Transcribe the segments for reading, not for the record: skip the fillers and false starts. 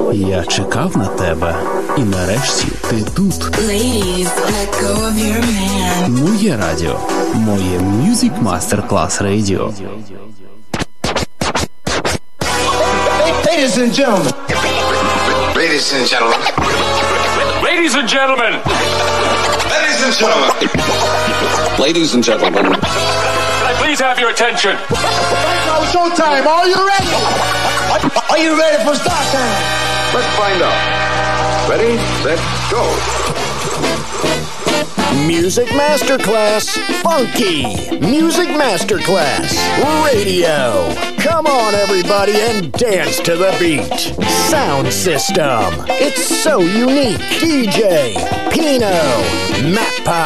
Я чекав на тебе, і нарешті ти тут. Ladies, let go of your man. Моє радіо. Моє Music Masterclass Radio. Ladies and gentlemen. Ladies and gentlemen. Ladies and gentlemen. Ladies and gentlemen. Ladies and gentlemen. Can I please have your attention? Now showtime. Are you ready? Are you ready for start time? Let's find out. Ready, set, go. Music Masterclass Funky. Music Masterclass Radio. Come on, everybody, and dance to the beat. Sound system. It's so unique. DJ Pino Mappa.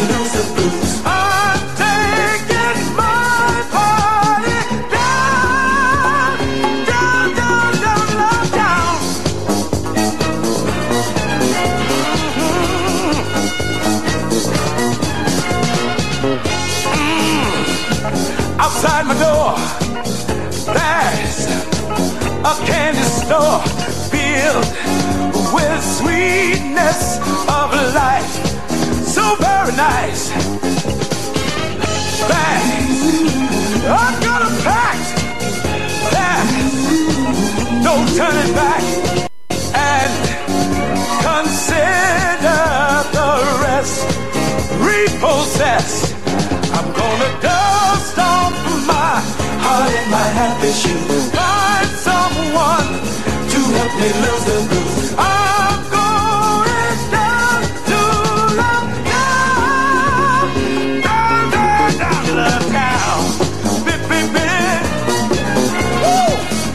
I'm taking my party down. Outside my door, there's a candy store filled with sweetness of life. So very nice. Thanks. I'm gonna pack that. No turning back. And consider the rest repossessed. I'm gonna dust off my heart and my happy shoes. Find someone to help me lose the blues. I'm going down to the town, down to the town. Bip, bip, bip. Woo!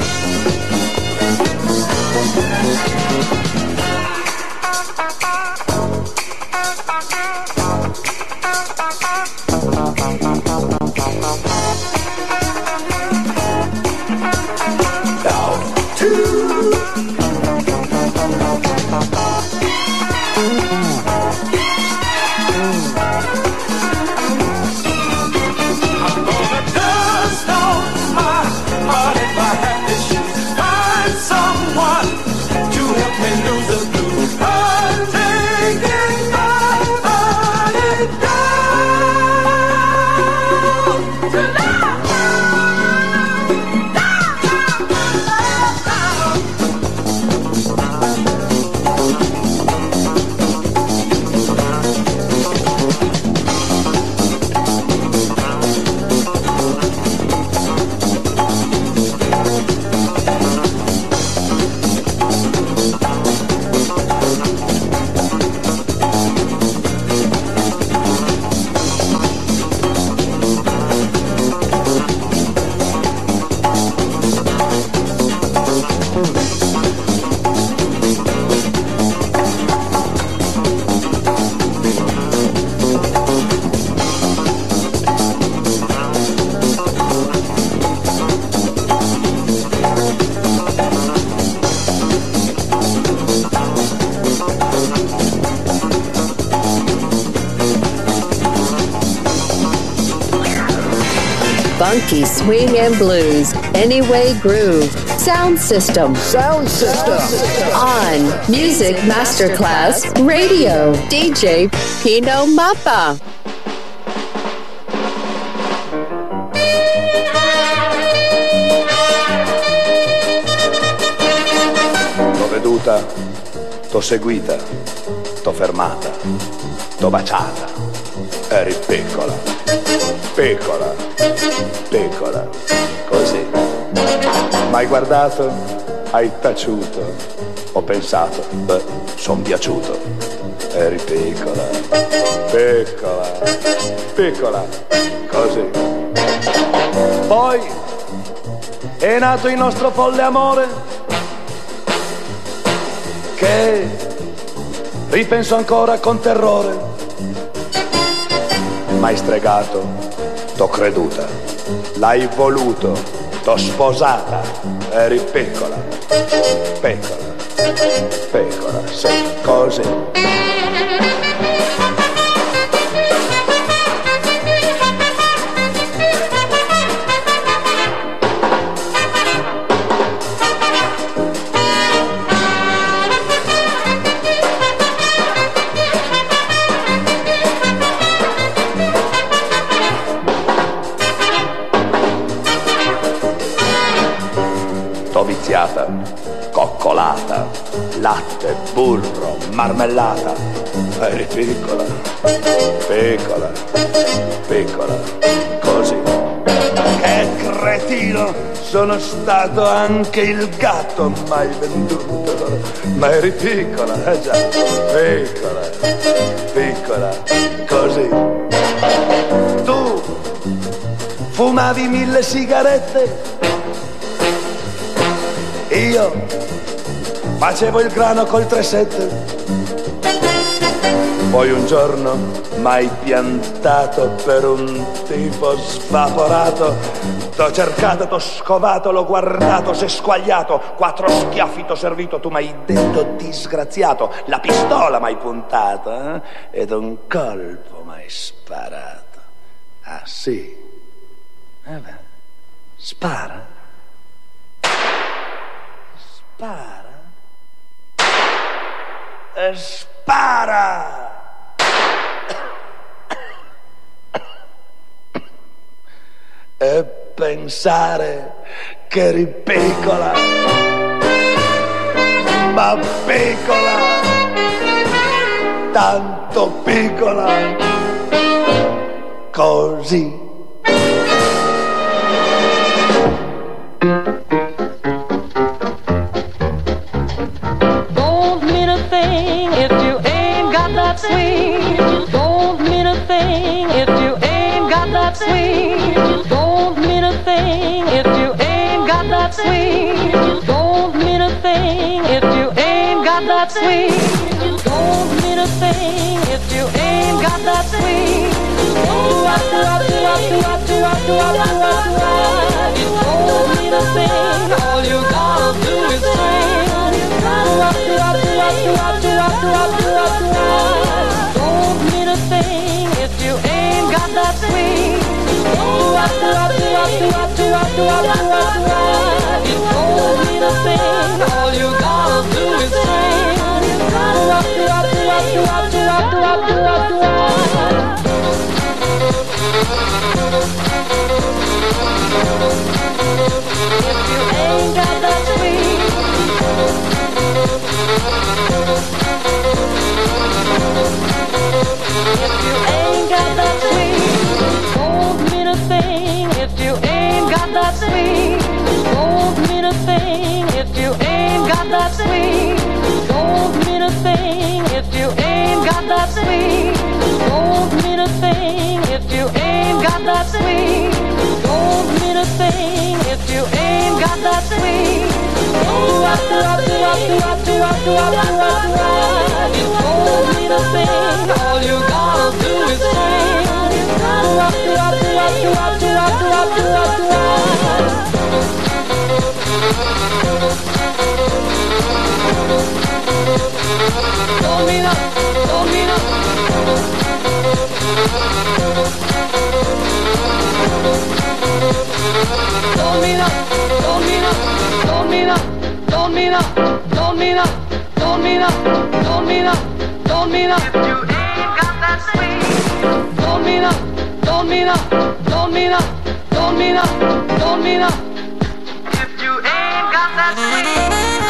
Funky swing and blues, Anyway Groove, Sound System. Sound System. On Music Masterclass Radio, DJ Pino Mappa. T'ho veduta, t'ho seguita, t'ho fermata, t'ho baciata. Eri piccola, piccola, piccola, così. M'hai guardato, hai taciuto, ho pensato, beh, son piaciuto. Eri piccola, piccola, piccola, così. Poi è nato il nostro folle amore, che ripenso ancora con terrore. M'hai stregato, t'ho creduta, l'hai voluto, t'ho sposata, eri piccola, piccola, piccola, sì, così. Coccolata, latte, burro, marmellata. Eri piccola, piccola, piccola, così. Che cretino, sono stato anche il gatto mai venduto. Ma eri piccola, già, piccola, piccola, così. Tu fumavi 1000 sigarette, io facevo il grano col 3-7. Poi un giorno m'hai piantato per un tipo svaporato. T'ho cercato, t'ho scovato, l'ho guardato, s'è squagliato. 4 schiaffi t'ho servito, tu m'hai detto disgraziato. La pistola m'hai puntata, ed un colpo m'hai sparato. Ah sì? Spara. Spara. E spara. E pensare che eri piccola, ma piccola, tanto piccola, così. Don't mean a thing if you ain't got that swing. Don't mean a thing if you ain't got that swing. Don't mean a thing if you ain't got that swing. Don't mean a thing if you ain't got that swing. Don't mean a thing if you ain't got that swing. Don't mean a thing, all you gotta do is swing. Don't mean a thing if you ain't got that swing. Don't mean a thing, all you gotta do is swing. If you ain't got that swing. If you ain't got that swing, don't mean a thing if you ain't got that swing. Don't mean a thing if you ain't got that swing. Don't mean a thing if you ain't got that swing. Don't mean a thing if you ain't got that swing. Don't mean a thing if you ain't got that swing. Don't mean a thing, all you gotta do is swing. Don't mean up, don't mean up. Don't mean up, don't mean up, don't mean up, don't mean up, don't mean up, don't mean up, don't mean up, don't mean up. If you ain't got that swing. Don't mean up, don't mean up, don't mean up, don't mean up, don't mean up. If you ain't got that swing.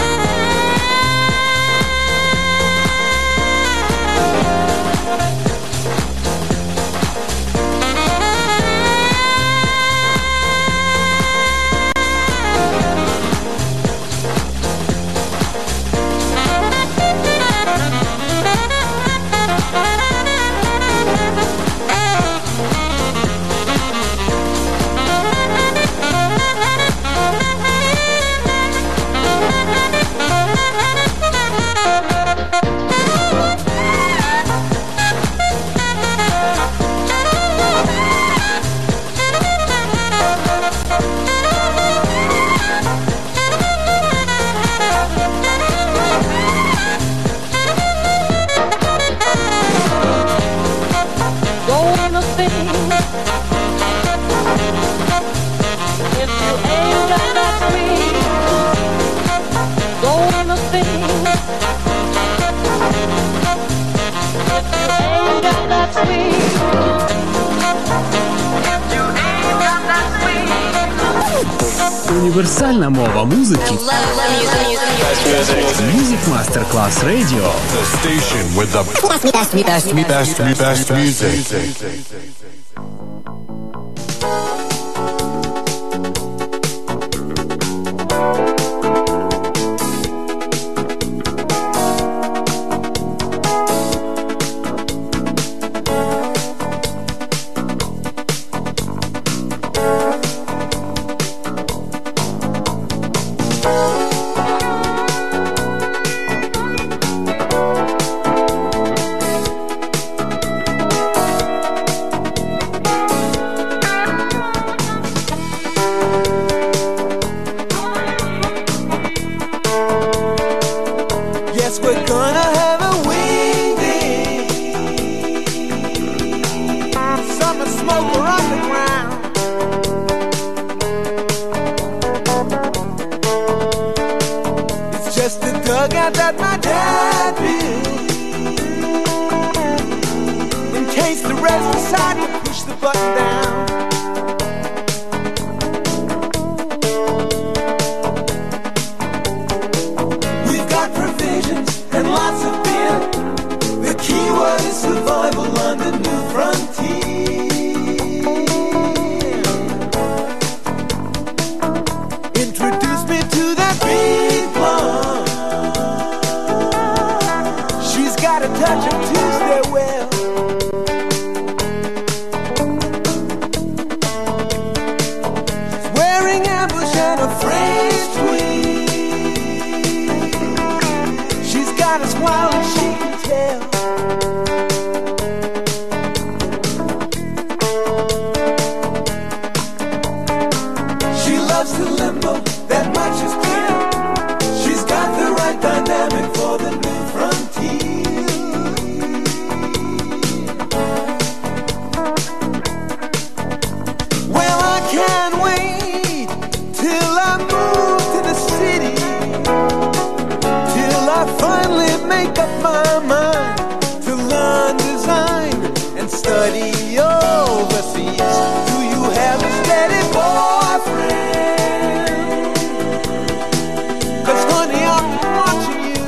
Універсальна мова музики. Music Masterclass Radio. The station with the best music. out that my dad bill, in case the rest decide to push the button down. We've got provisions and lots of beer. The key word is survival on the new frontier. Introduce me to that big blonde. She's got a touch of Tuesday well. She's wearing ambush and a French tweed. She's got a smile and she can tell. She loves the limbo, that much is clear. She's got the right dynamic for the new frontier. Well, I can't wait till I move to the city, till I finally make up my mind to learn design and study overseas. Do you have a steady boyfriend? 'Cause honey, I'm watching you.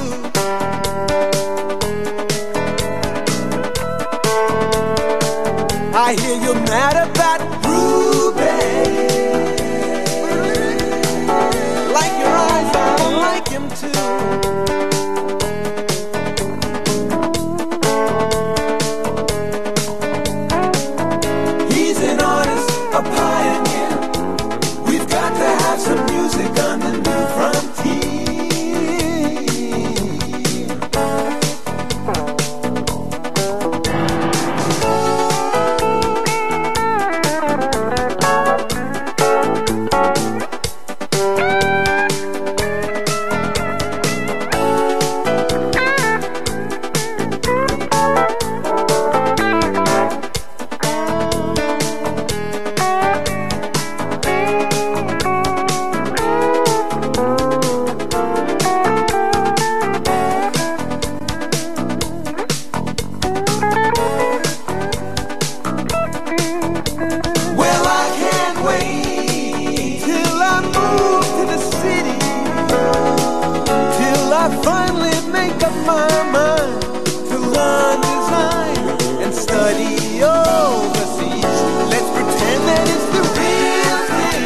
I hear you're mad about Ruby. Like your eyes, I like him too. He's an artist, a pioneer. We've got to have some music on the new frontier. Well, I can't wait till I move to the city, till I finally make up my mind to learn design and study overseas. Let's pretend that it's the real thing.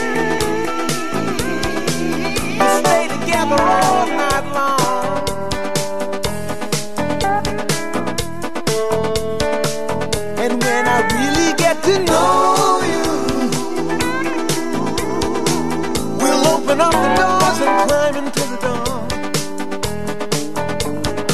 We stay together all night long. And when I really get to know you, we'll open up the doors and climb into the dawn.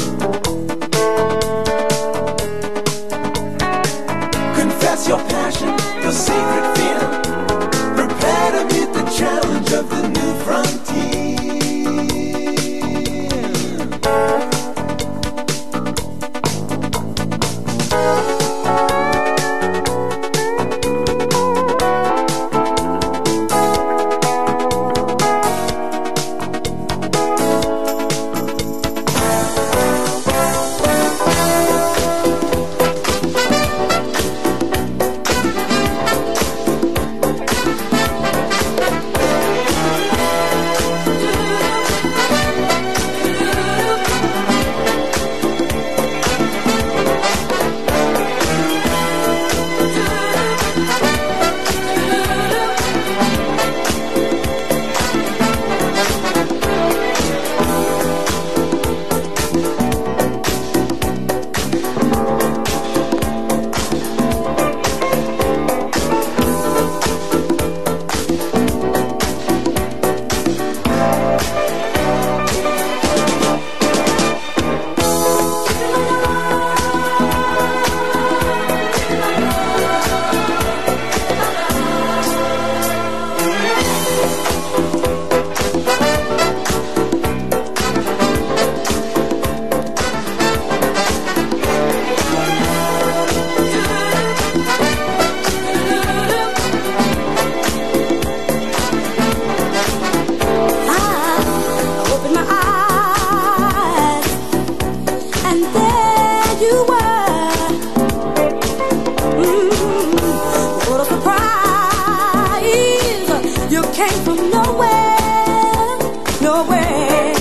came from nowhere, nowhere.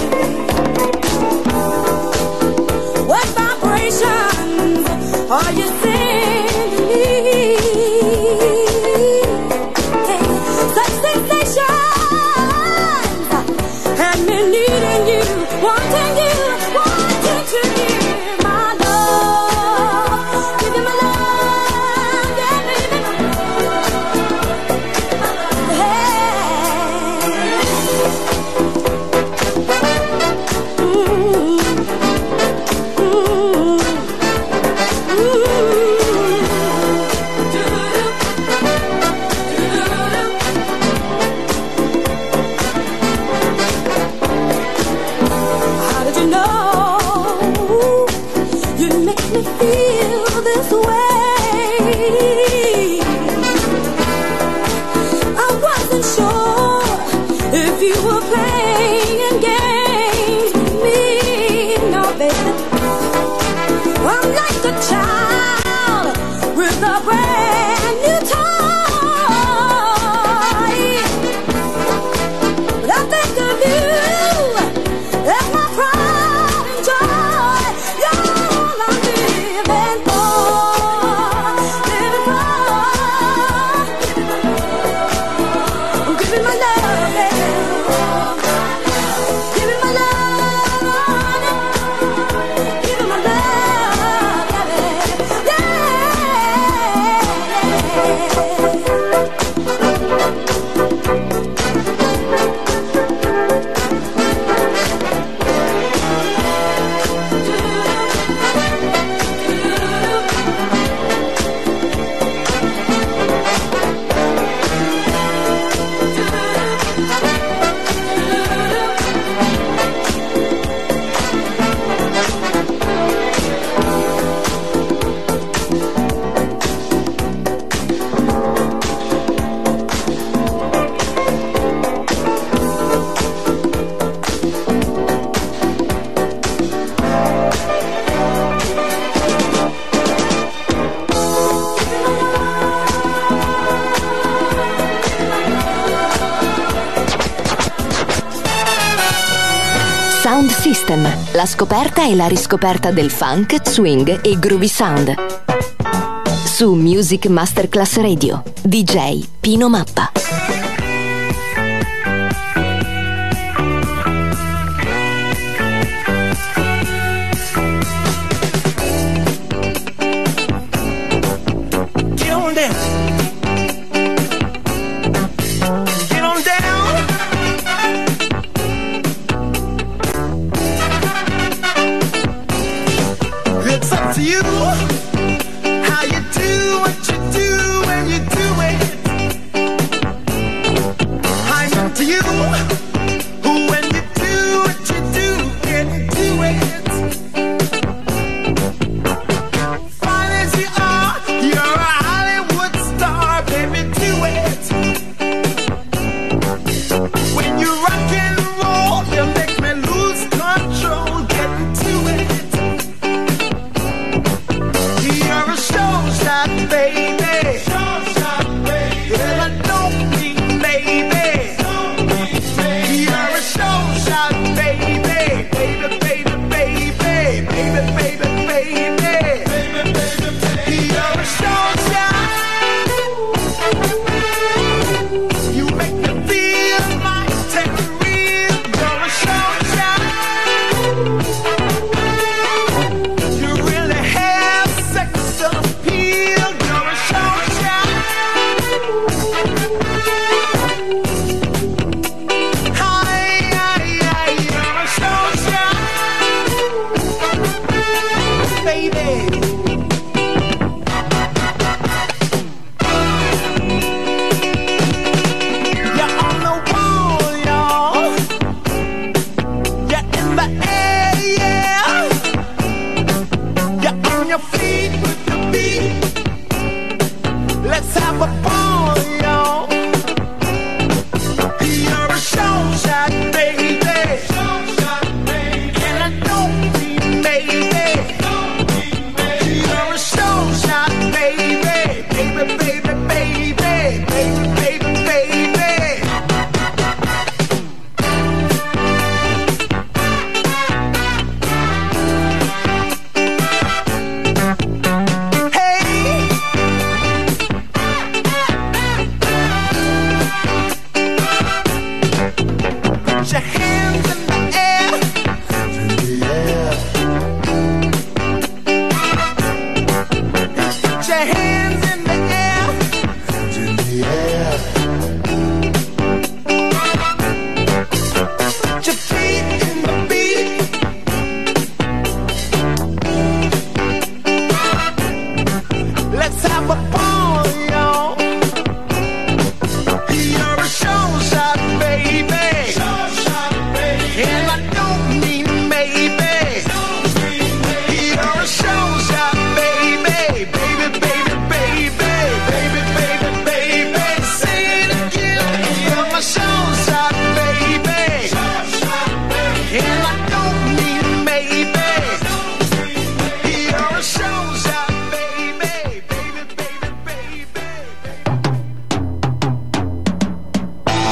What vibrations are you sending me? Such sensations had me needing you, wanting to give my love, give you my love, yeah, baby. How did you know you'd make me feel this way? I wasn't sure if you were playing games with me. No, baby, I'm like a child with a brand new toy. But I think of you as my pride and joy. You're all I'm living for, living for. I'm giving my love, baby. Giving my love, giving my love, baby. Yeah. Sound System, la scoperta e la riscoperta del funk, swing e groovy sound. Su Music Masterclass Radio, DJ Pino Mappa. Get on down. Get on down. It's up to you how you do what you do when you do it. I'm up to you who when you do what you do and do it. Fine as you are, you're a Hollywood star, baby, do it. When you rock and roll, you make me lose control, get into it. You're a showstop, baby. Showstop, baby. And I don't mean maybe.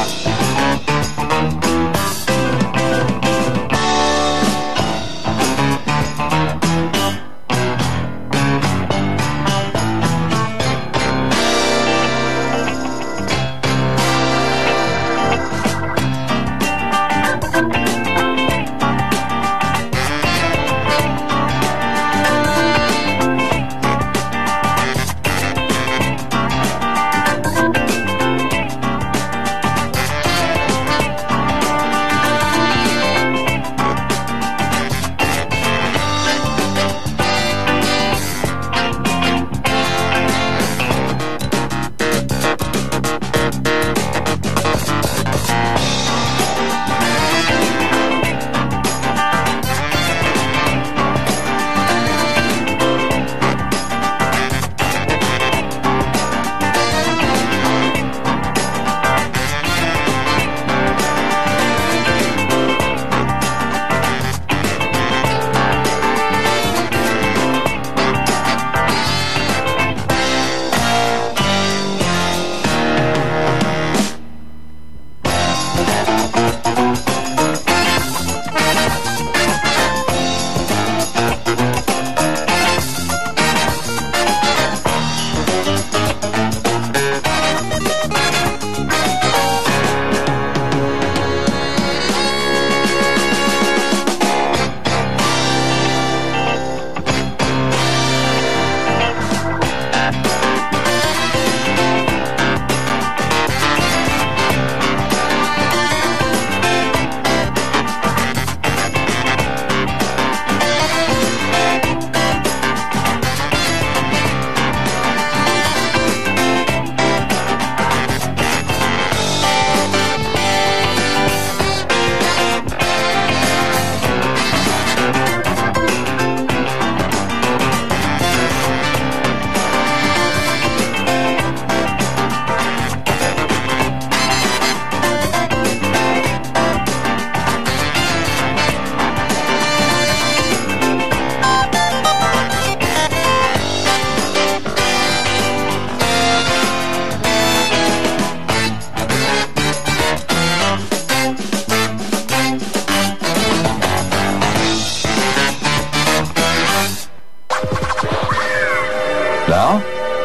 Now,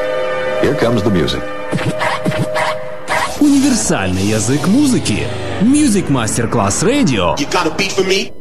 here comes the music. Универсальный язык музыки. Music Master Class Radio. You got a beat for me?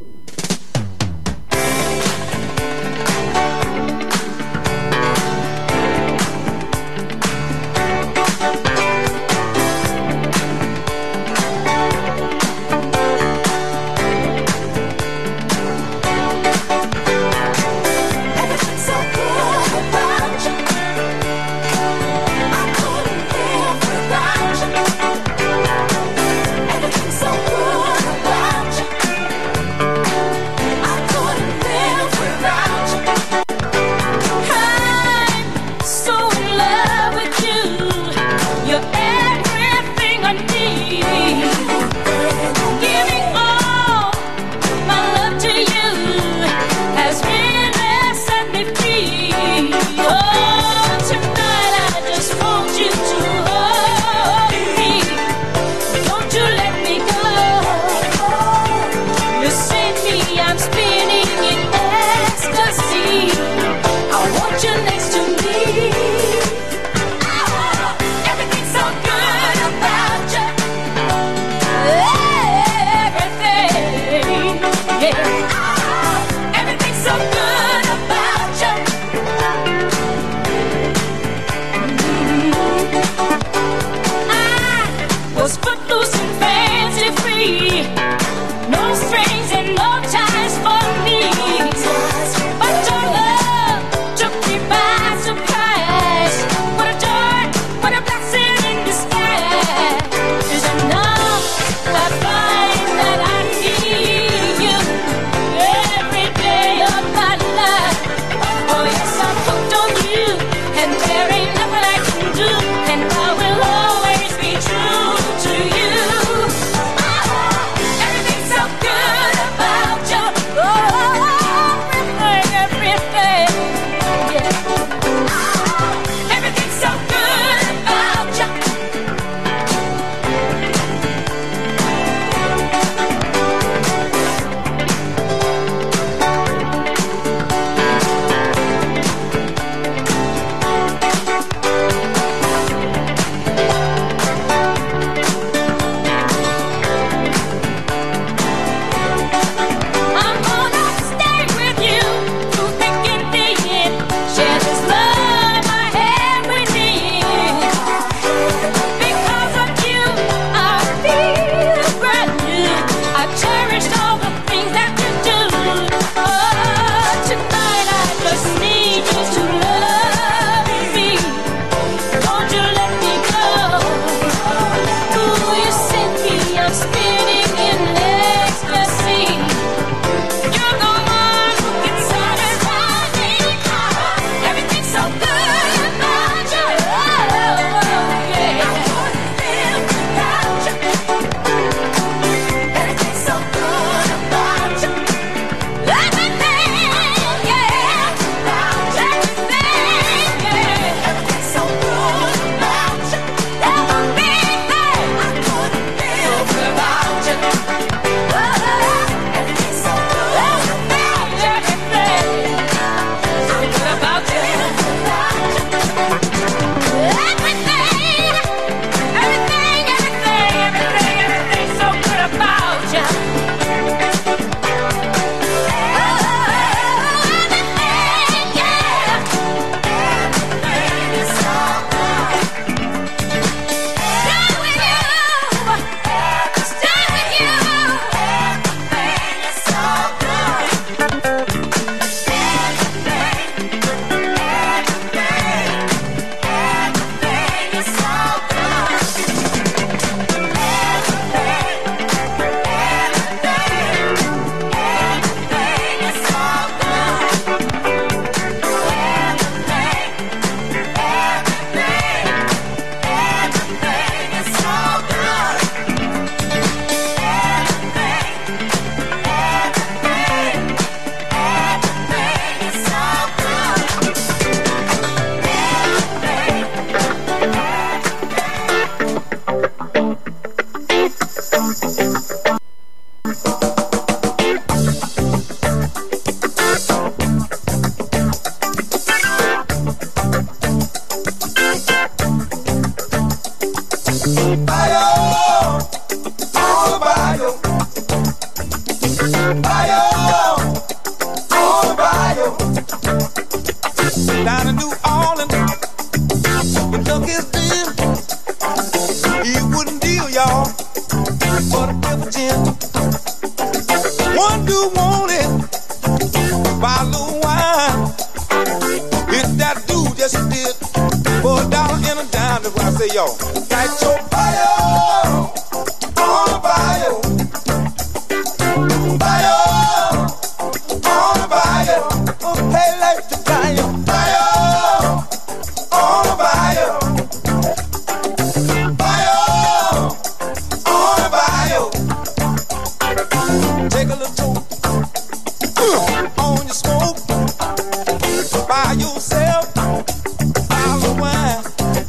Down in New Orleans, you took his deal. He wouldn't deal, y'all, for the pepper gin. One dude wanted buy a little wine. Hit that dude, yes he did, for $1 and a dime. That's why I say, yo, got your fire on the bayou. Fire on the bayou. Hey, like the bayou. Fire on the bayou. Fire on the bayou. Take a little toke on your smoke. Buy yourself a bottle of wine.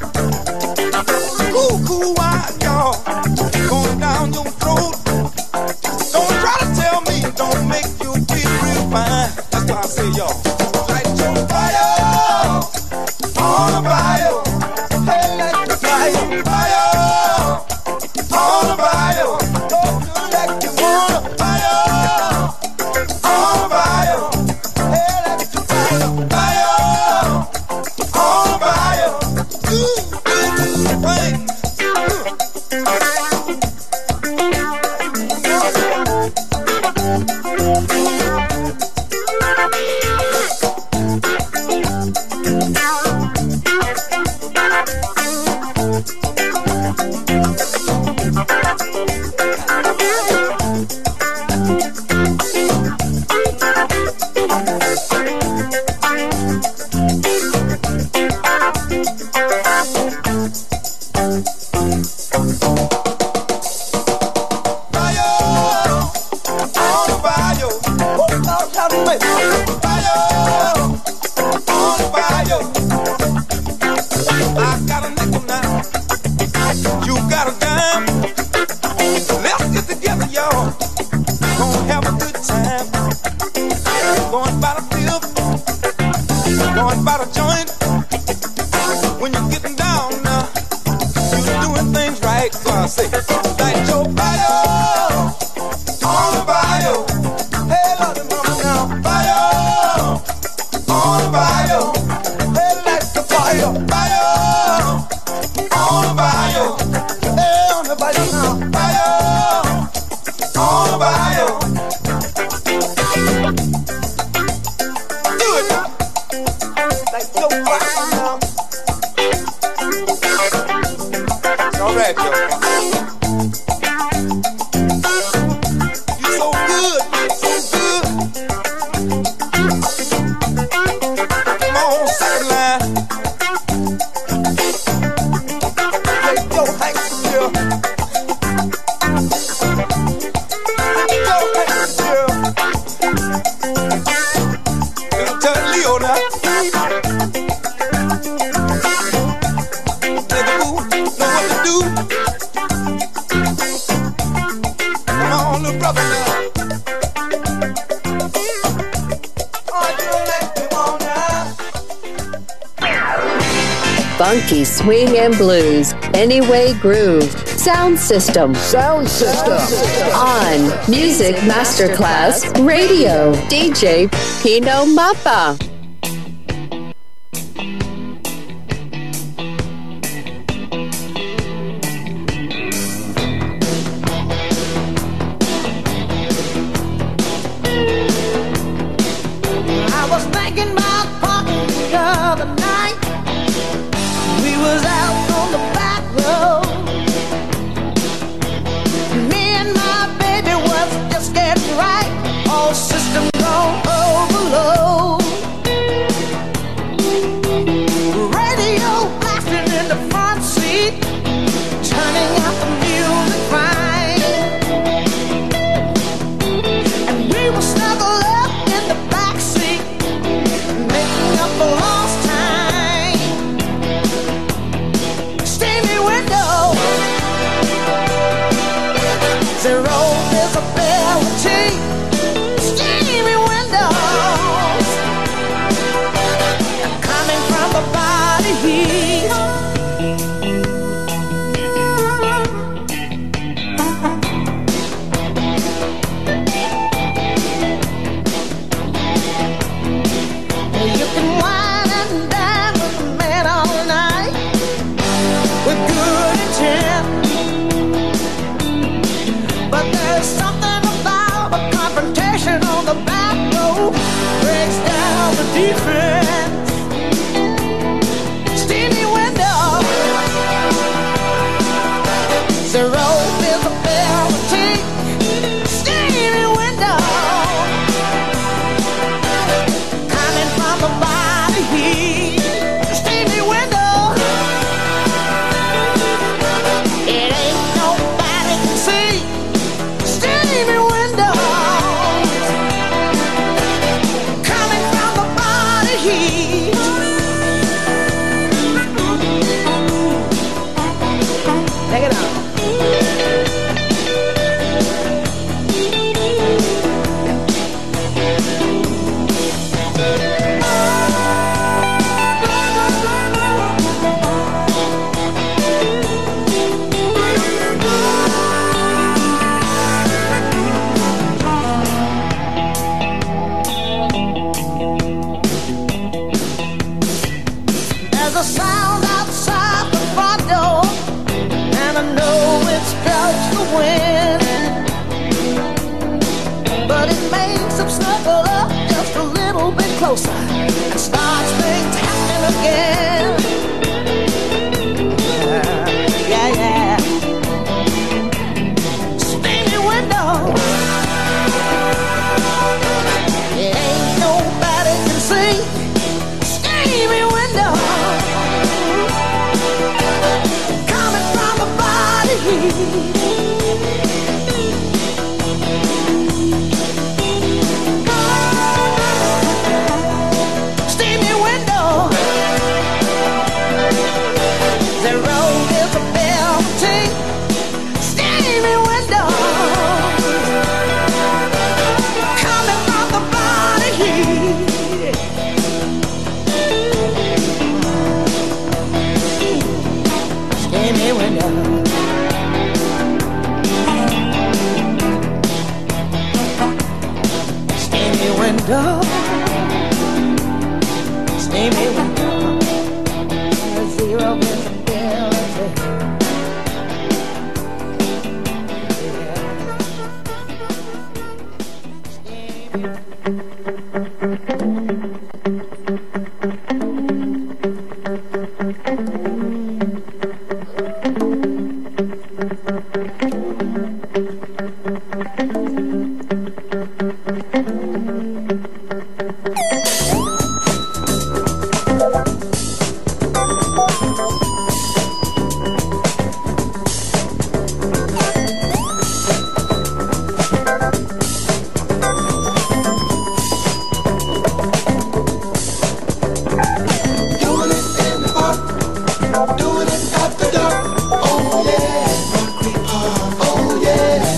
Cool wine, y'all, going down your throat. Don't try to tell me, don't make you feel real fine. That's why I say, y'all, light your fire on the bayou. Hey, light the fire, fire on the bayou. Don't do like you wanna, fire on the bayou. Hey, light the fire, fire on the bayou. Wait. Funky swing and blues, Anyway Groove, Sound System on Music Masterclass Radio. DJ Pino Mappa. I was thinking about parking the other night. We was out on the back road. Me and my baby was just getting right. All systems on overload. Radio blasting in the front seat, turning out the music fine. And we were snuggled up in the back seat, making up for lost time. Steamy window, zero visibility. Steamy windows, coming from the body heat. closer and starts things happening again. Yeah, yeah. Steamy window. Ain't nobody can see. Steamy window. Coming from the body heat. Window, steamy window, zero visibility. Doing it after dark. Oh yeah, Concrete Park. Oh yeah.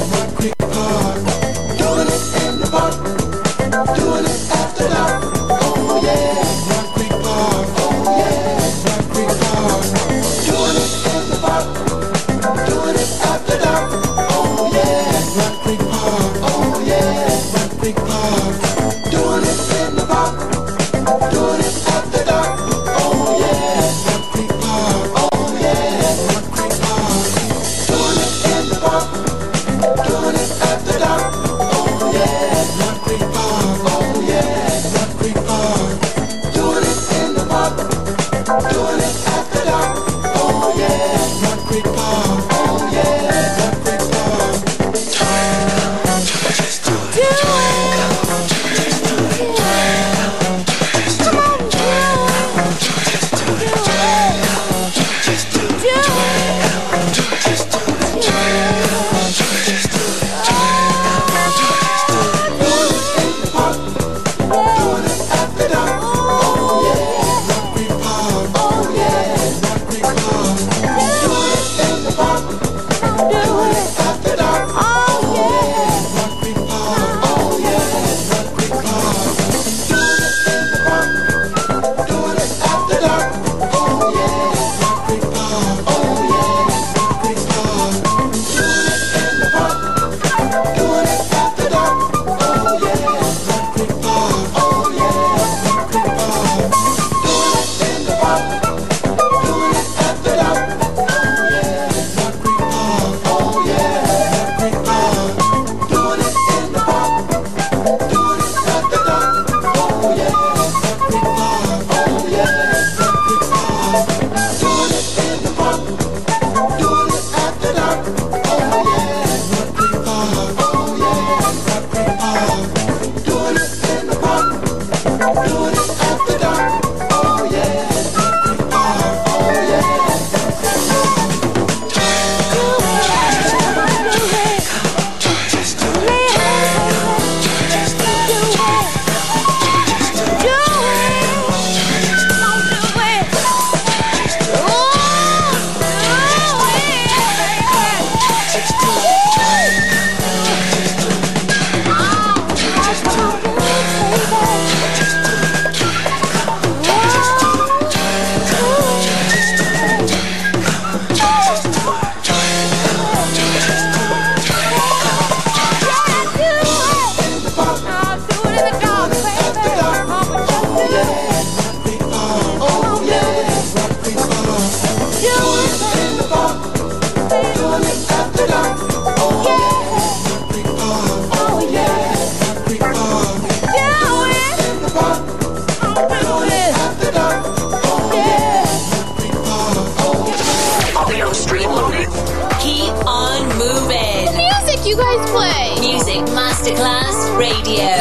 make you guys play. Music Masterclass Radio.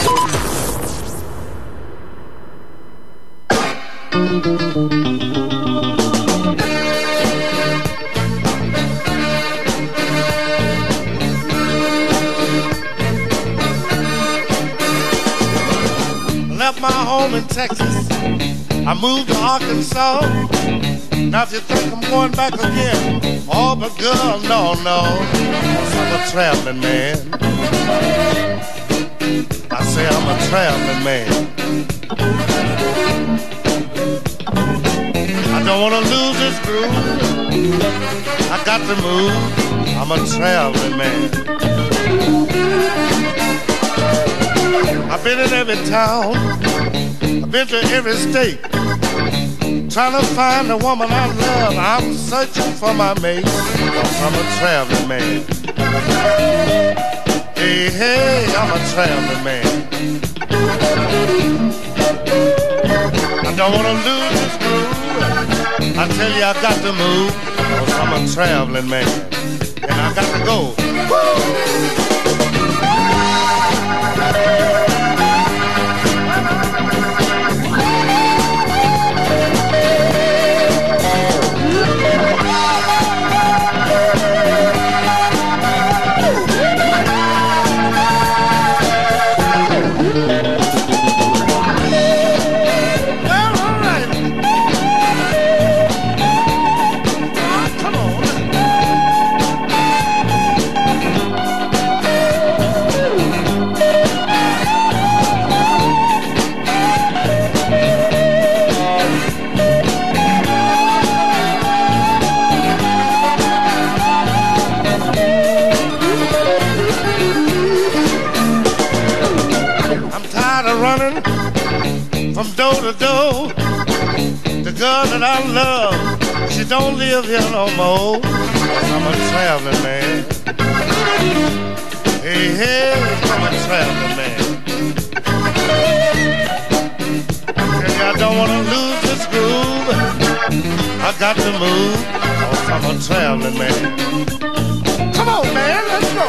Left my home in Texas. I moved to Arkansas. Now if you think I'm going back again, oh, but girl, no, 'cause I'm a traveling man. I say I'm a traveling man. I don't want to lose this groove. I got to move. I'm a traveling man. I've been in every town. I've been to every state. Trying to find the woman I love. I'm searching for my mate. 'Cause I'm a traveling man. Hey, hey, I'm a traveling man. I don't want to lose this groove. I tell you I got to move. 'Cause I'm a traveling man. And I got to go. Woo! From door to door, the girl that I love, she don't live here no more. 'Cause I'm a traveling man. Hey, hey, I'm a traveling man. Hey, I don't want to lose this groove. I got to move. 'Cause I'm a traveling man. Come on, man, let's go.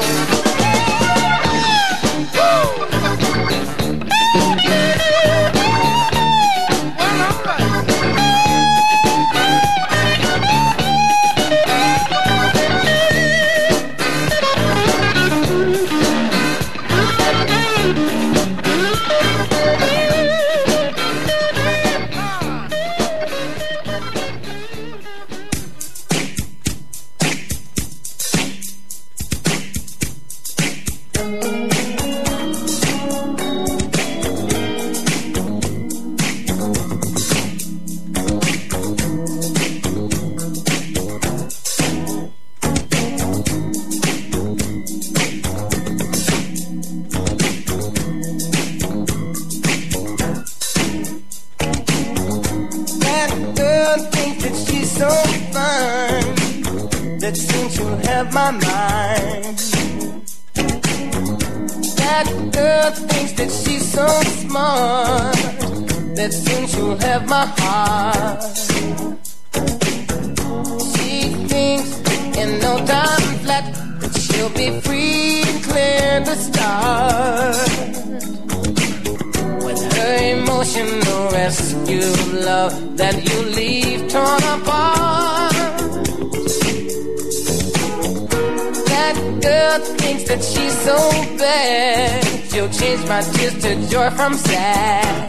From sad.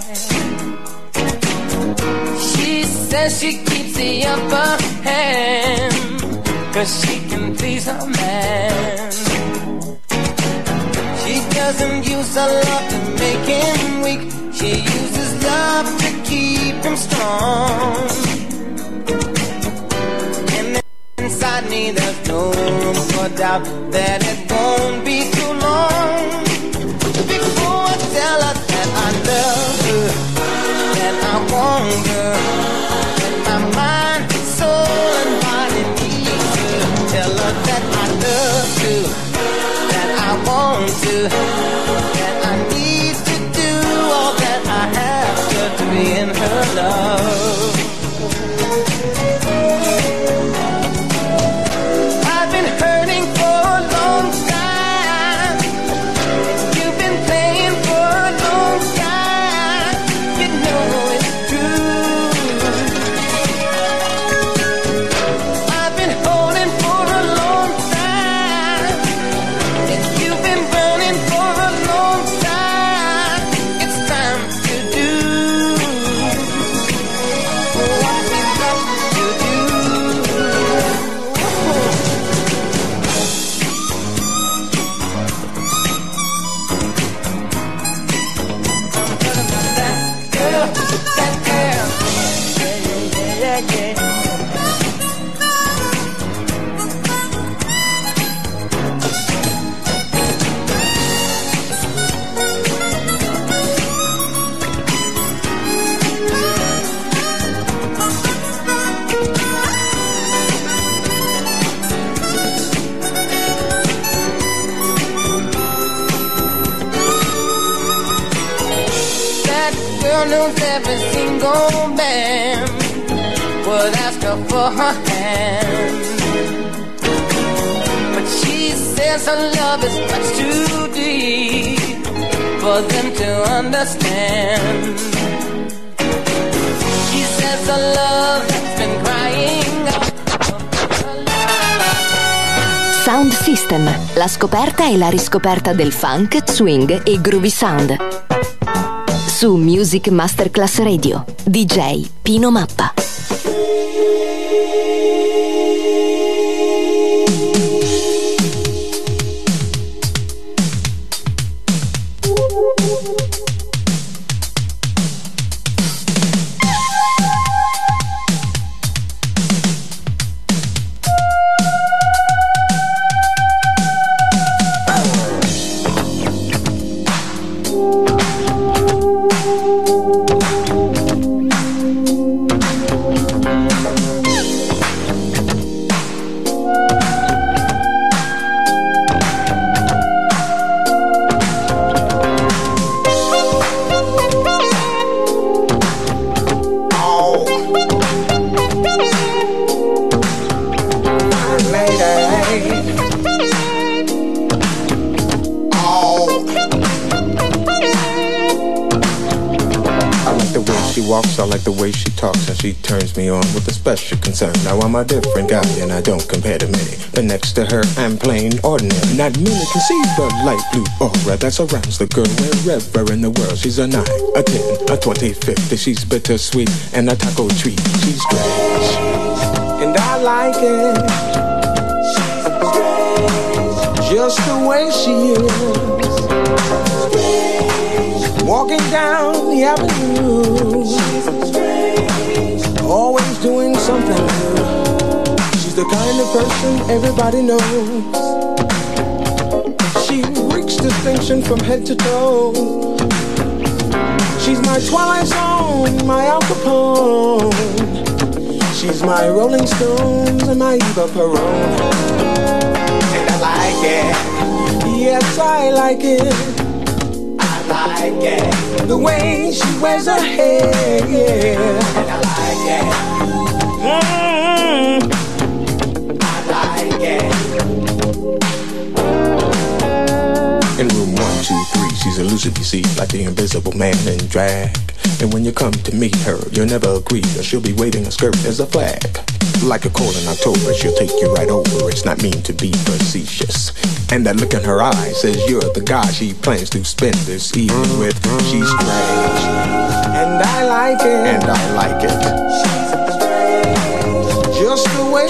She says she keeps the upper hand 'cause she can please her man. She doesn't use her love to make him weak. She uses love to keep him strong. And inside me there's no room for doubt that it won't be too long before I tell her that I love her, that I want her, that my mind, soul, and body needs her. Tell her that I love her, that I want to, that I need to do all that I have to be in her love. I've been hurting for a long time. girl knows every single man would ask her for her hand. But she says her love is much too deep for them to understand. She says her love has been crying out. Sound System, la scoperta e la riscoperta del funk, swing e groovy sound. Su Music Masterclass Radio, DJ Pino Mappa. I like the way she talks and she turns me on with a special concern. Now I'm a different guy and I don't compare to many, but next to her I'm plain ordinary. Not many can see the light blue aura that surrounds the girl wherever in the world. She's a 9, a 10, a 20, 50. She's bittersweet and a taco treat. She's strange and I like it. She's strange, just the way she is. Walking down the avenue, always doing something new. She's the kind of person everybody knows. She reeks distinction from head to toe. She's my Twilight Zone, my Al Capone. She's my Rolling Stones and my Eva Peron. And I like it, yes I like it. I like it, the way she wears her hair, yeah. And I like it, I like it. In room 1, 2, 3, she's elusive, you see, like the invisible man in drag. And when you come to meet her, you'll never agree that she'll be waving her skirt as a flag. Like a cold in October, she'll take you right over. It's not mean to be facetious. And that look in her eye says you're the guy she plans to spend this evening with. She's strange, and I like it. And I like it. Just the way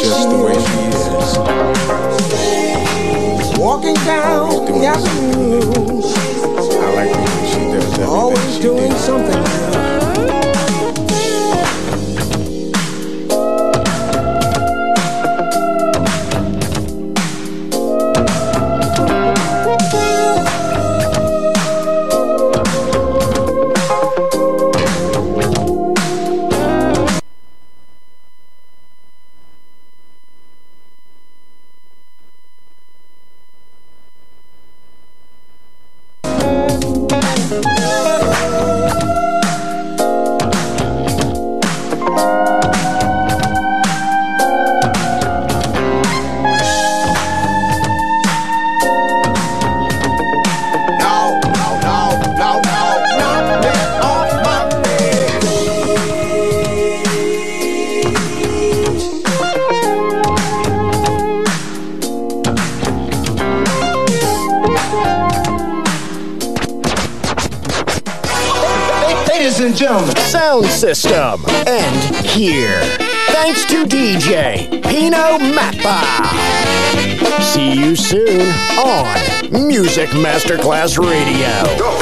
she is. Walking down the avenue. I like the way she does that. Always doing something new. Sound System. And here, thanks to DJ Pino Mappa. See you soon on Music Masterclass Radio.